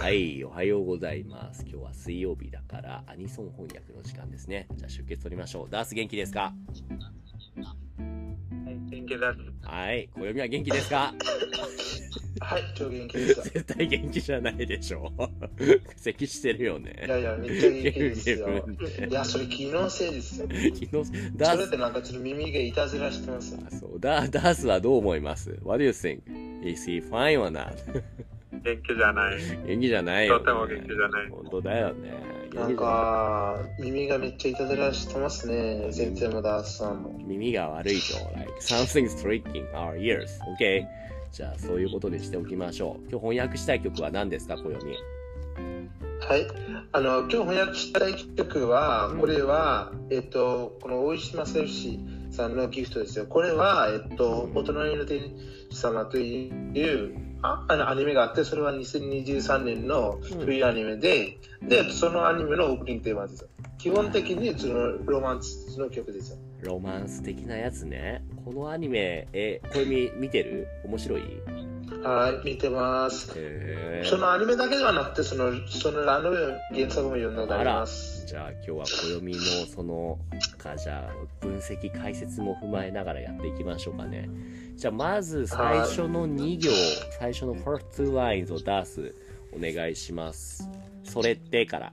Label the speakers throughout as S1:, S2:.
S1: はい、おはようございます。今日は水曜日だからアニソン翻訳の時間ですね。じゃあ出血取りましょう。ダース元気ですか？
S2: はい、元気です。
S1: はい、暦は元気ですか？
S3: はい、超元気です。
S1: 絶対元気じゃないでしょ。咳してるよね。
S3: いやいや、めっちゃ元気ですよ。いや、それ気のせいですよ。
S1: 昨日ダース
S3: それってなんかちょっと耳がいたずらしてますよ。
S1: そうダースはどう思います？ What do you think? Is he fine or not?
S2: 元気じゃない。
S1: 元気じゃないよ、ね。
S2: とても元気じゃない。
S1: 本当だよね。
S3: なんか、耳がめっちゃいたずらしてますね。先生もダースさんも。
S1: 耳が悪いと、like something's tricking our ears. OK? じゃあそういうことにしておきましょう。今日翻訳したい曲は何ですか、暦？
S3: はい。今日翻訳したい曲は、これは、この大石正義さんのギフトですよ。これは、大人の天使様というアニメがあって、それは2023年の冬アニメで、で、そのアニメのオープニングテーマですよ。基本的にそのロマンスの曲ですよ。
S1: ロマンス的なやつね。このアニメ、これ見てる？面白い？
S3: はい、見てます。そのアニメだけではなくて、その原作も読んだことあります。
S1: じゃあ今日は暦のじゃあ分析解説も踏まえながらやっていきましょうかね。じゃあまず最初の2行、最初の first two lines を出す。お願いします。それってから。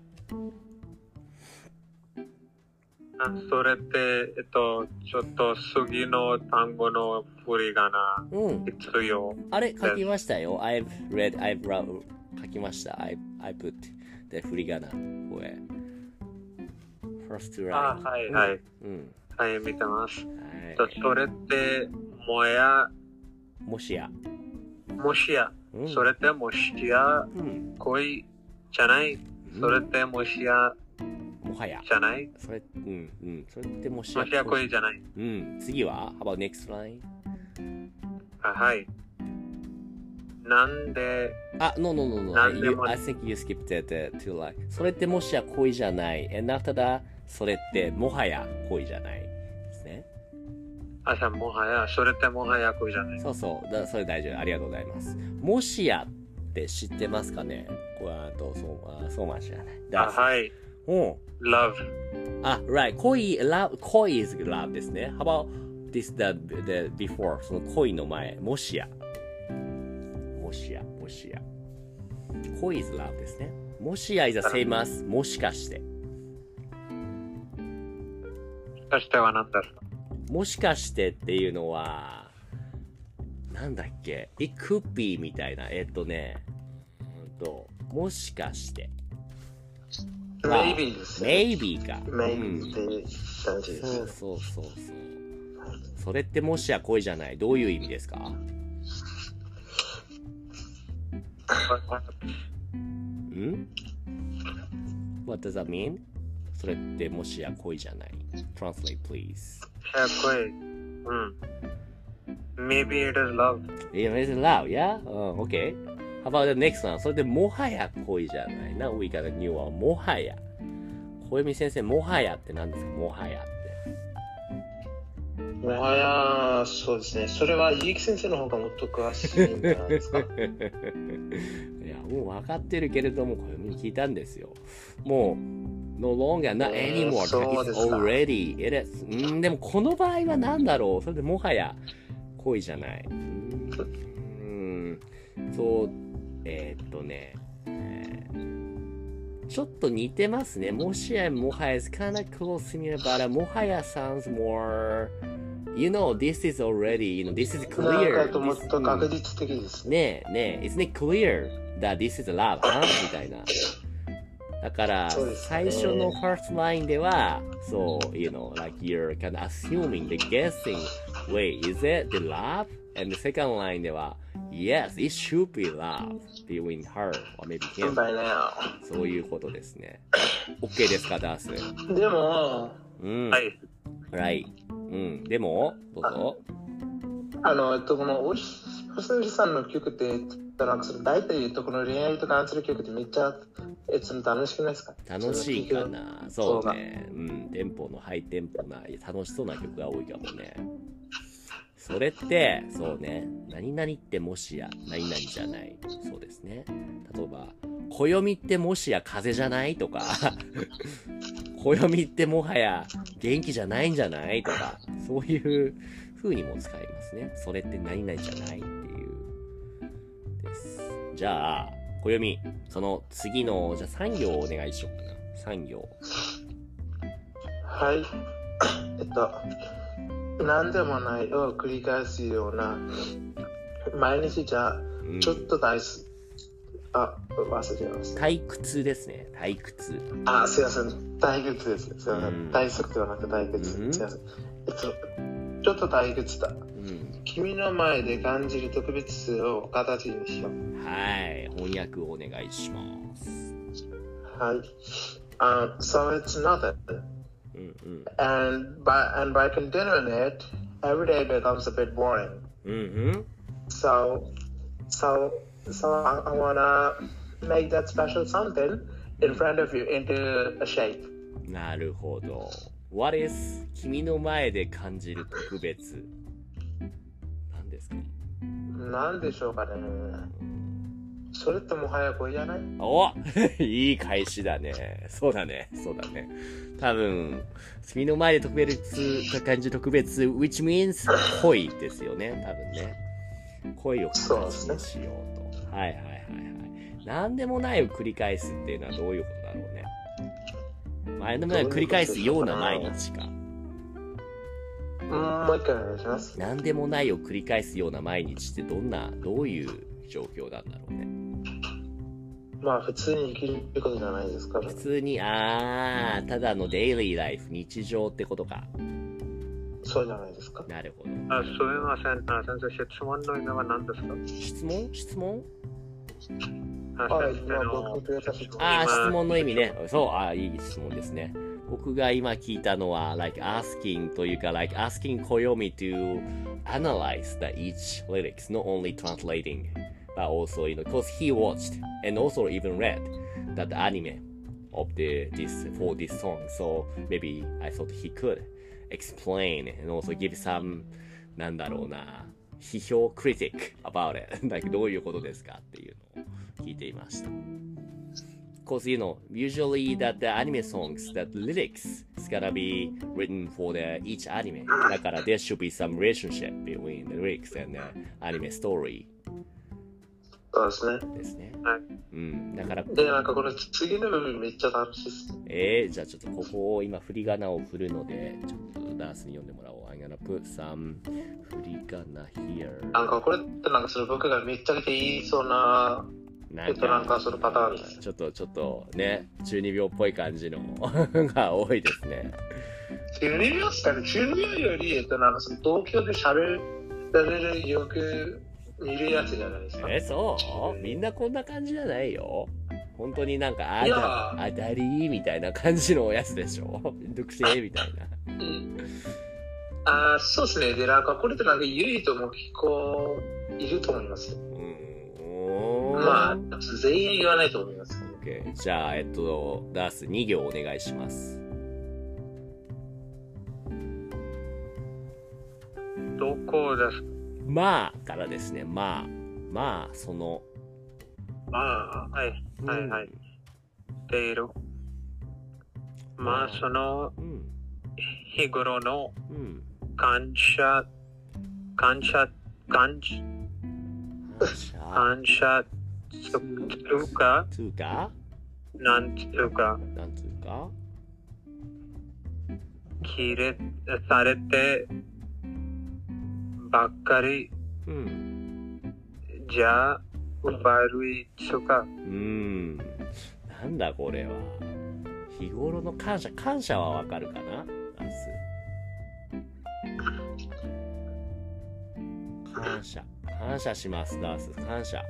S2: それって、ちょっと次の単語の振り仮名、必要。
S1: あれ、書きましたよ。I've wrote 書きました。I put the 振り仮名。これ。first two lines。
S2: はい、はい。はい、見てます。それって、もしや。それってもしや、恋じゃない。それってもしや、
S1: もはや。
S2: じゃない？
S1: それってもし
S2: や恋じゃない。
S1: 次は How about next line?
S2: はい。なんで
S1: No. I think you skipped that two line. それってもしや恋じゃない。And after that, それってもはや恋じゃない。ですね。
S2: もはや、それってもはや恋じゃない。
S1: そうそう。それ大丈夫。ありがとうございます。もしやって知ってますかね？これそうましゃない。
S2: はい。love.
S1: Right. 恋 is love ですね。How about this the before その恋の前もしや。恋 is love ですね。もしや is the same as もしかして。
S2: もしかしては何ですか？
S1: もしかしてっていうのはなんだっけ？ It could be みたいな。もしかして。
S3: Maybe ですね。
S1: Maybe か。
S3: Maybe って感じです。
S1: そう。それってもしや恋じゃない。どういう意味ですか？What does that mean? それってもしや恋じゃない。Translate, please.
S2: Maybe it is love.
S1: Yeah, it is love, yeah? Okay. How about the next one? それでもはや恋じゃない。Now we got a new one. もはや。小読先生、もはやって何ですか？もはやって。
S3: もはや、そうですね。それは、結城先生の方がもっと詳しいんじゃないですか。い
S1: や、もう分かってるけれども、小読に聞いたんですよ。もう、no longer, not anymore. It's already. It is. でもこの場合は何だろう？それでもはや恋じゃない。そう、ちょっと似てますね。もしや、もはや is kind of close to me, but もはや sounds more, this is already, this is clear.
S3: なんかもっと確実的です
S1: ね。Isn't it clear that this is love, huh? みたいな。だから、最初の first line では、そう、like you're kind of assuming, the guessing, wait, is it the love? And the second line では、Yes, it should be love between her or maybe him. そういうことですね。OK ですか、ダース。
S3: でも、
S2: はい。
S1: Right. でも、どうぞ。
S3: このおしさんの曲って、大体この恋愛と関する曲ってめっちゃ楽しくないですか？
S1: 楽しいかな。そうね。テンポのハイテンポな楽しそうな曲が多いかもね。それってそうね。何々ってもしや何々じゃない。そうですね。例えば暦ってもしや風邪じゃないとか、暦ってもはや元気じゃないんじゃないとか、そういう風にも使いますね。それって何々じゃないっていうです。じゃあ、暦、その次の、じゃあ3行お願いしようかな。3行。
S3: はい。何でもないを繰り返すような、毎日じゃちょっと忘れてました。
S1: 退屈ですね。退屈。
S3: すいません。退屈です。すいません。退屈ではなく退屈。すいません。ちょっと退屈だ。君の前で感じる特別を形にしよう。
S1: はい。翻訳をお願いします。
S3: はい。So it's nothing. And by continuing it, every day becomes a bit boring. So I wanna make that special something in front of you into a shape.
S1: なるほど。What is 君の前で感じる特別？何ですか？
S3: 何でしょうかね。それってもはやこれじゃない？
S1: おいい返しだね。そうだね。多分、君の前で特別な感じ特別、which means 恋ですよね。多分ね。恋を形にしようと。はい。何でもないを繰り返すっていうのはどういうことだろうね。何でもないを繰り返すような毎日か。
S3: もう一回お願いします。
S1: 何でもないを繰り返すような毎日ってどういう状況なんだろうね。
S3: まあ普通に生きることじゃないですかね。
S1: 普通に、ただのデイリーライフ、日常ってことか。
S3: そうじゃないですか。
S1: なるほど。
S2: すみません。先生、質問の意味は何ですか？
S1: 質問
S2: 質
S1: 問の意味ね。そう、いい質問ですね。僕が今聞いたのは、like asking というか、like asking Koyomi to analyze the each lyrics, not only translating, but also, because he watched and also even read that anime of for this song. So maybe I thought he could explain and also give some, なんだろうな、批評 critic about it. like どういうことですかっていうのを聞いていました。Because, usually that the anime songs, that lyrics is gonna be written for each anime. だから there should be some relationship between the lyrics and the anime story.
S3: そうですね。
S1: ですね。だから。
S3: で、なんかこの次の部分めっちゃ楽しいです。
S1: じゃあちょっとここを今振り仮名を振るので、ちょっとダースに読んでもらおう。I'm gonna put some 振り仮名 here.
S3: なんかこれってなんかその僕がめっちゃ言いそうな、なんかそのパターンです。
S1: ちょっとね、中二病っぽい感じのが多いですね。
S3: 中二病っすかね。中二病より、なんかその東京で喋られるよく見るやつじゃないですか。
S1: そうみんなこんな感じじゃないよ。本当になんか、あだりーみたいな感じのやつでしょ。めんどくせーみたい
S3: な。そうですね。で、なんかこれってなんか唯一も結構いると思いますよ。まあ、全員言わないと思います。
S1: OK。じゃあ、ダース2行お願いします。
S2: どこですか？
S1: まあからですね。まあ、その。
S2: はい。ている。まあ、その、日頃の感謝つうかなんつうか切れされてばっかりじゃ悪いつうか
S1: なんだこれは。日頃の感謝はわかるかな？感謝します、ダース。感謝。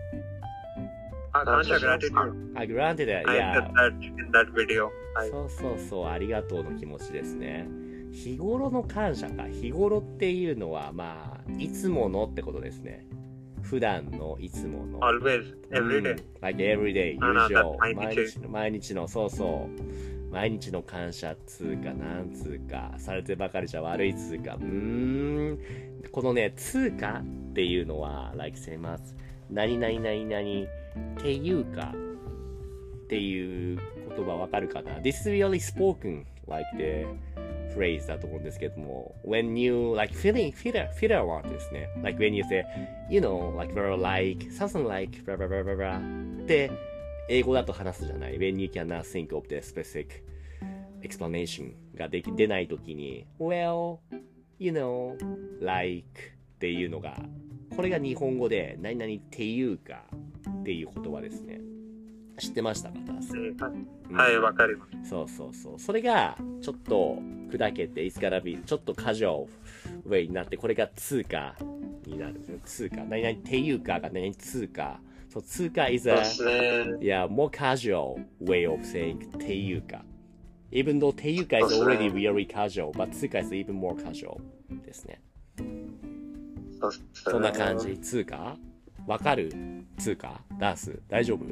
S2: granted.
S1: granted.
S2: Yeah. In that video.
S1: そう、ありがとうの気持ちですね。日頃の感謝か。日頃っていうのは、まあ、いつものってことですね。普段のいつもの。
S2: Always, every day.
S1: Like every day, usual. 毎日の、毎日の感謝つうか、なんつうか、されてばかりじゃ悪いつうか、このね、つうかっていうのは、like せます。何々っていうか、 っていう言葉わかるかな？ This is really spoken like the phrase だと思うんですけども、when you like feel a lot ですね。like when you say, you know, like like something like blah blah blah blah blah って英語だと話すじゃない。when you cannot think of the specific explanation が出ないときに well, you know, like っていうのが、これが日本語で何々っていうかっていう言葉ですね。知ってましたか？
S2: はい、わかります。
S1: そうそうそう。それがちょっと砕けて、it's gonna be ちょっとカジュアルウェイになって、これが通貨になるんですよ。通貨。何々っていうかが何々通貨。そう、通貨 is a more casual way of saying っていうか。Even though っていうか is already very casual, but 通貨 is even more casual ですね。そんな感じ。通貨わかる？通貨ダース大丈夫？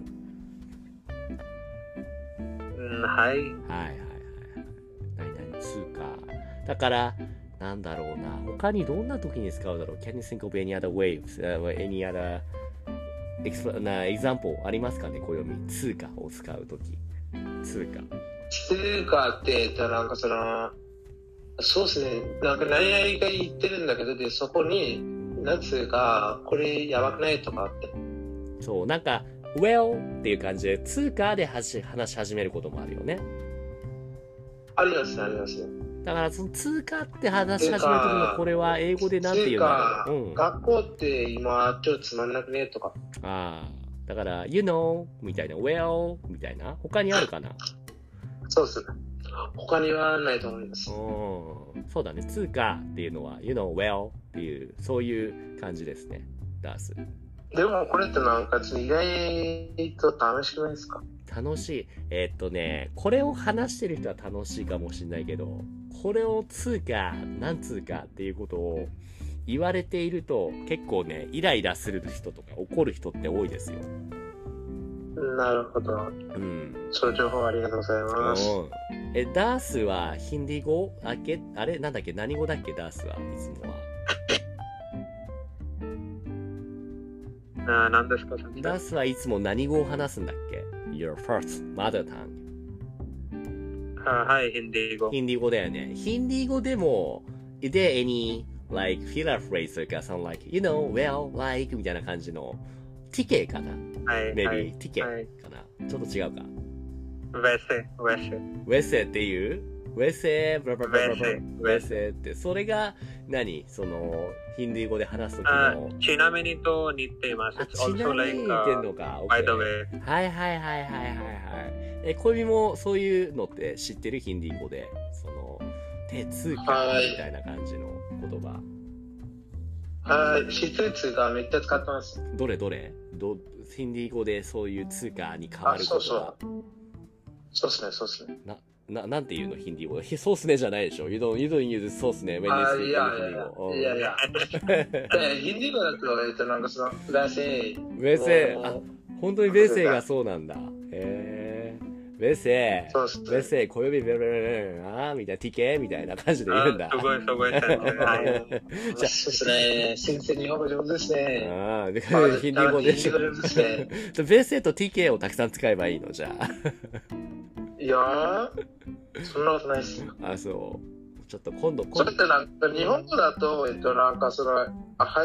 S2: はい。
S1: はいはいはい。何々通貨。だから、なんだろうな。他にどんな時に使うだろう？ Can you think of any other waves?、any other example ありますかね？暦。通貨を使う時。通貨。
S3: 通貨って言ったらなんかそうですね。なんか何々が言ってるんだけど、で、そこに、なんつうか、これやばくないとかって。
S1: そう、なんか、well っていう感じで通貨で話し始めることもあるよね。
S3: ありますね、ありますね。
S1: だからその通貨って話し始める時のこれは英語でなんて言うんだろう。うん、
S3: 学校って今ちょっとつまんなくねとか。
S1: ああ、だから you know みたいな well みたいな他にあるかな？
S3: そうですね。他にはないと思います。
S1: そうだね。通貨っていうのは you know well っていうそういう感じですね。ダース。
S3: でもこれってなんか意外と楽しくないですか？
S1: 楽しい。これを話してる人は楽しいかもしれないけど、これを通貨、なん通貨っていうことを言われていると結構ね、イライラする人とか怒る人って多いですよ。
S3: なるほど。うん。その情報ありがとうございます。
S1: ダースはヒンディー語あれなんだっけ？何語だっけ？ダースはいつもは。
S2: 何ですか？
S1: ダースはいつも何語を話すんだっけ？ Your first mother tongue。
S2: はい、ヒンディー語。
S1: ヒンディー語だよね。ヒンディー語でも、is there any like filler phrase というか、some like, you know, well, like みたいな感じの、ティケかな？
S2: はい。
S1: maybe、
S2: はい、
S1: ティケかな、ちょっと違うか。
S2: ウェセ
S1: っていうウェセブラブラブラブラウェセって、それが何？その、ヒンディー語で話すときの。
S2: ちなみにと似ています。
S1: ちなみに似てんのか。
S2: by the way。
S1: はいはいはいはいはいはい。小指もそういうのって知ってる？ヒンディー語で。その、通貨みたいな感じの言葉。
S3: はい、知ってる通貨めっちゃ使ってます。
S1: どれヒンディー語でそういう通貨に変わることは。
S3: そうっすね、そうっすね。
S1: なんて言うの？ヒンディー語で。そうっすねじゃないでしょ。You don't use そうっすね。when you speak
S3: いや。ヒンディー語だと、なんかその、ウェセ
S1: 本当にウェセがそうなんだ。ウェセ、小指ベルベルみたいな、ティケみたいな感じで言うんだ。
S2: すごい。
S3: そうですね。先生日本語上手ですね。
S1: ヒンディー語でしょ。ベーセとティケをたくさん使えばいいのじゃあ。
S3: いやー、そんなことないっすよ。
S1: あ、そう。ちょっと今度。
S3: それってなんか日本語だと、なんかその、はい、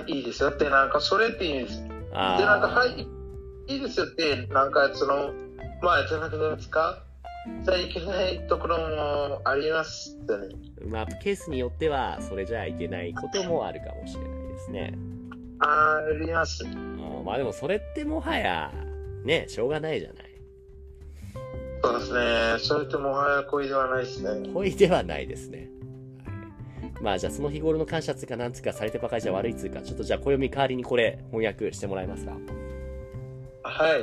S3: いいですよって、なんかそれって言うんですよ。で、なんか、はい、いいですよって、なんかその、じゃなくて使っちゃいけないところもありますってね。
S1: ケースによっては、それじゃいけないこともあるかもしれないですね。
S3: あります。
S1: でもそれってもはや、ね、しょうがないじゃない。
S3: そうですね。それってもはや恋ではないですね。
S1: 恋ではないですね。じゃあその日頃の感謝つかなんつかされてばかりじゃ悪いつか、ちょっとじゃあ暦代わりにこれ翻訳してもらえますか？
S3: はい。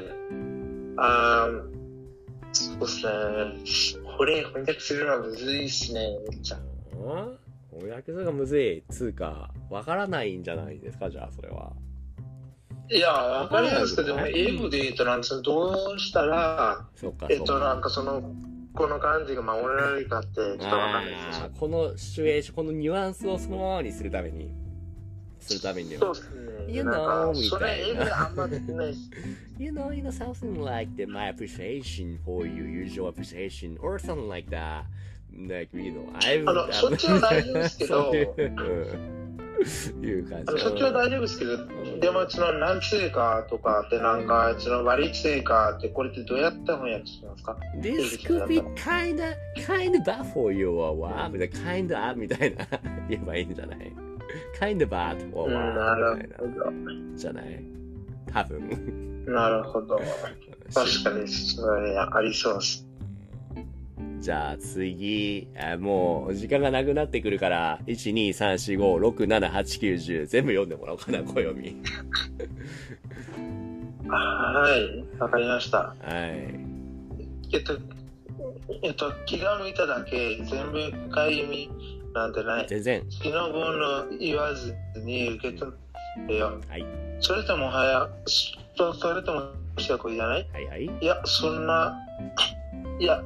S3: そうですね。これ翻訳するのはむずいっすね。
S1: 翻訳するのがむずい。つうか、わからないんじゃないですか、じゃあそれは。
S3: いや、わかりますけど、英語で言うとなんかどうしたら、なんかその、この感じが守られるかってちょっとわかんないです。
S1: このシチュエーション、このニュアンスをそのままにするために、 するためには。
S3: そうですね。
S1: You know, み
S3: そ
S1: たいな。
S3: れ英語であんまりないし。
S1: You know, something like that, my appreciation for you, usual appreciation, or something like that. Like, you know,
S3: そっちは大丈夫ですけど、
S1: いう感じ。
S3: そっちは大丈夫ですけど、でもその何成かとかってなんか、その割り成かってこれってどうやって翻訳しますか？
S1: This could be kinda bad for you or what? みたいな、kinda みたいな言えばいいんじゃない？ Kinda bad or what?
S3: なるほど。
S1: じゃない？多分。
S3: なるほど。確かにそれありそうです。
S1: じゃあ次、もう時間がなくなってくるから、1、2、3、4、5、6、7、8、9、10全部読んでもらおうかな、小読み。
S3: はい、わかりました。
S1: はい。
S3: 気が向いただけ、全部深い意味なんてない。
S1: 全然。
S3: 気の分の言わずに受け止めよ。
S1: はい。
S3: それともそれともしたことじゃない？
S1: はいはい。
S3: いや、そんなわ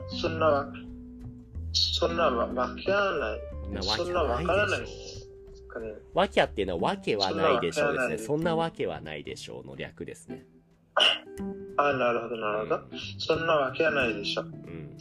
S3: けはない。そんなわからない。
S1: わけっていうのはわけはないでしょうですね。そんなわけはないでしょうの略ですね。
S3: なるほど、なるほど。そんなわけはないでしょ。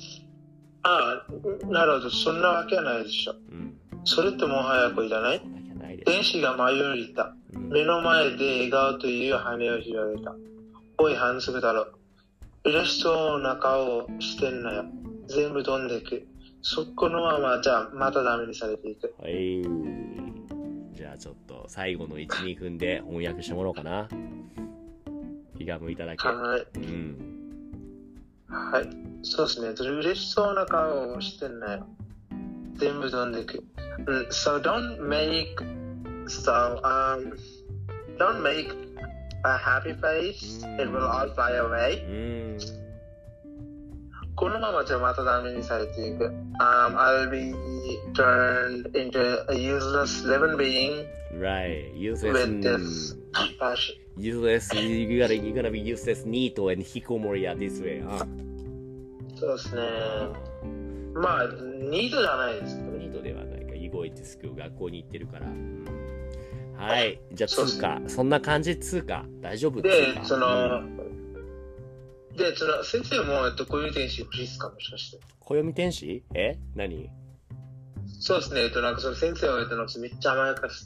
S3: なるほど、そんなわけはないでしょ。それとも早くじゃない？天使が舞い降りた。目の前で笑顔という羽を広げた。おい、反則だろ。嬉しそうな顔してんなよ。全部飛んでいく。そこのまま、じゃあ、またダメにされていく。
S1: はい。じゃあ、ちょっと、最後の1、2分で翻訳してもらおうかな。気が向いただけ。
S3: はい。はい。そうですね。嬉しそうな顔をしてんなよ。全部飛んでいく。So don't make a happy face. It will all fly away. このままじゃまたダメにされていく。I'll be turned into a useless living being.
S1: Right. Useless.
S3: With this passion.
S1: Useless. You're gonna be useless, neat, and hikomori this way, huh?
S3: そうですね。まあ、ニートじゃないですけど。
S1: ニートではないか。動いてすく学校に行ってるから。はい。じゃあ、通過。そんな感じ通過。大丈夫ですか？
S3: で、先生も、暦天使欲しいですか？もしかして。
S1: 暦天使？何？
S3: そうですね。なんか先生は、めっちゃ甘やかして、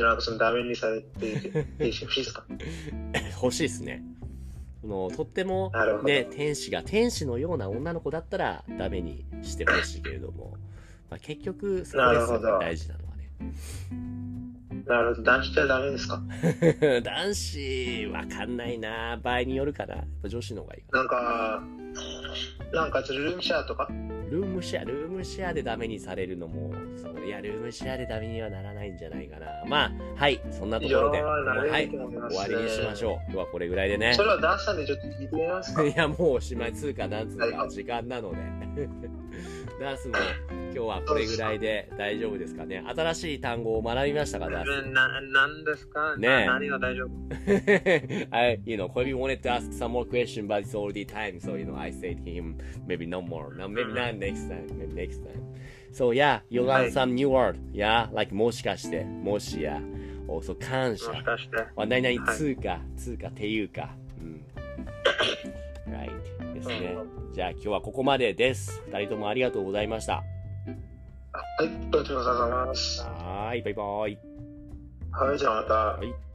S3: なんかダメにされていて、天使欲しいですか？
S1: 欲しいですね。とっても、ね、天使のような女の子だったら、ダメにしてほしいけれども、まあ、結局、そこですよね、大事なのはね。
S3: なるほど。男子ってダメですか？
S1: 男子、わかんないな。場合によるかな。やっぱ女子の方がいいかな。
S3: なんかルームシェアとか？
S1: ルームシェアでダメにされるのも、いや、ルームシェアでダメにはならないんじゃないかな。まあ、はい、そんなところで、はい、終わりにしましょう。今日はこれぐらいでね。
S3: それはダンさんでちょっと聞いてみますか？
S1: いや、もうおしまい、通過なんつうか、時間なので。ダースも今日はこれぐらいで大丈夫ですかね。新しい単語を学びましたか、ダース。
S3: 何ですかね。何が大丈夫
S1: Kobe wanted to ask some more question, but it's already time. So, I said to him, maybe no more. No, maybe not next time. Maybe next time. So, yeah, you learn some new word. Yeah, like もしかして、もしや。also 感謝。
S3: もしかして。
S1: 何々通過っていうか。Right. ですね。じゃあ今日はここまでです。二人ともありがとうございました。
S3: はい、どうもありがとうございます。
S1: はい、バイバイ。
S3: はい、じゃあまた。
S1: はい。